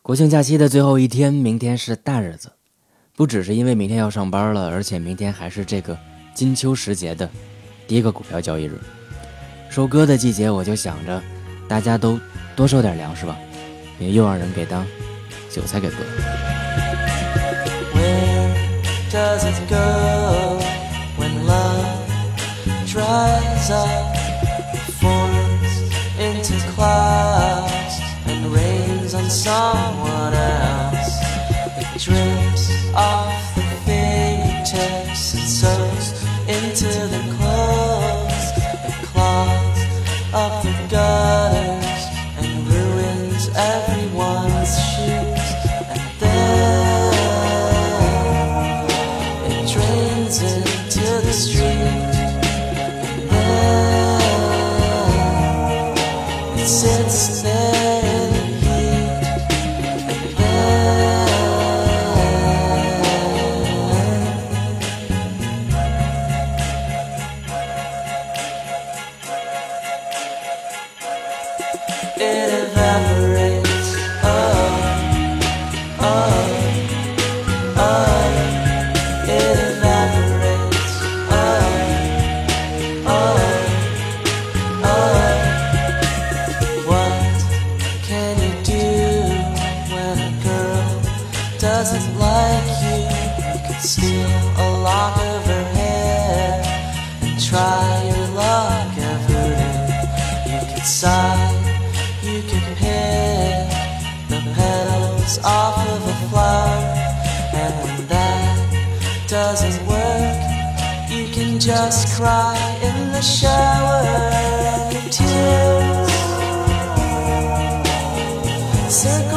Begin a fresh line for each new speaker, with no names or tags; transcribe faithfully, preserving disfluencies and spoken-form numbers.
国庆假期的最后一天，明天是大日子，不只是因为明天要上班了，而且明天还是这个金秋时节的第一个股票交易日。收割的季节，我就想着大家都多收点粮食吧，别又让人给当韭菜给割了。
Where does it go when love dries up, forms into clouds and rains on someone else? It drips off the fingertips and soaks into the clothes. It clogs up the gutters and ruins everyone's shoes. And then it drains into the street. And then it sits there in the heat. And then it evaporates. Oh, oh, oh. It evaporates. Oh, oh, oh. What can you do when a girl doesn't like you? You could steal a lock of her hair and try your luck at voodoo. You could sigh, you could pick the petals off of a flower, and when that doesn't work, you can just cry in the shower, and your tears circle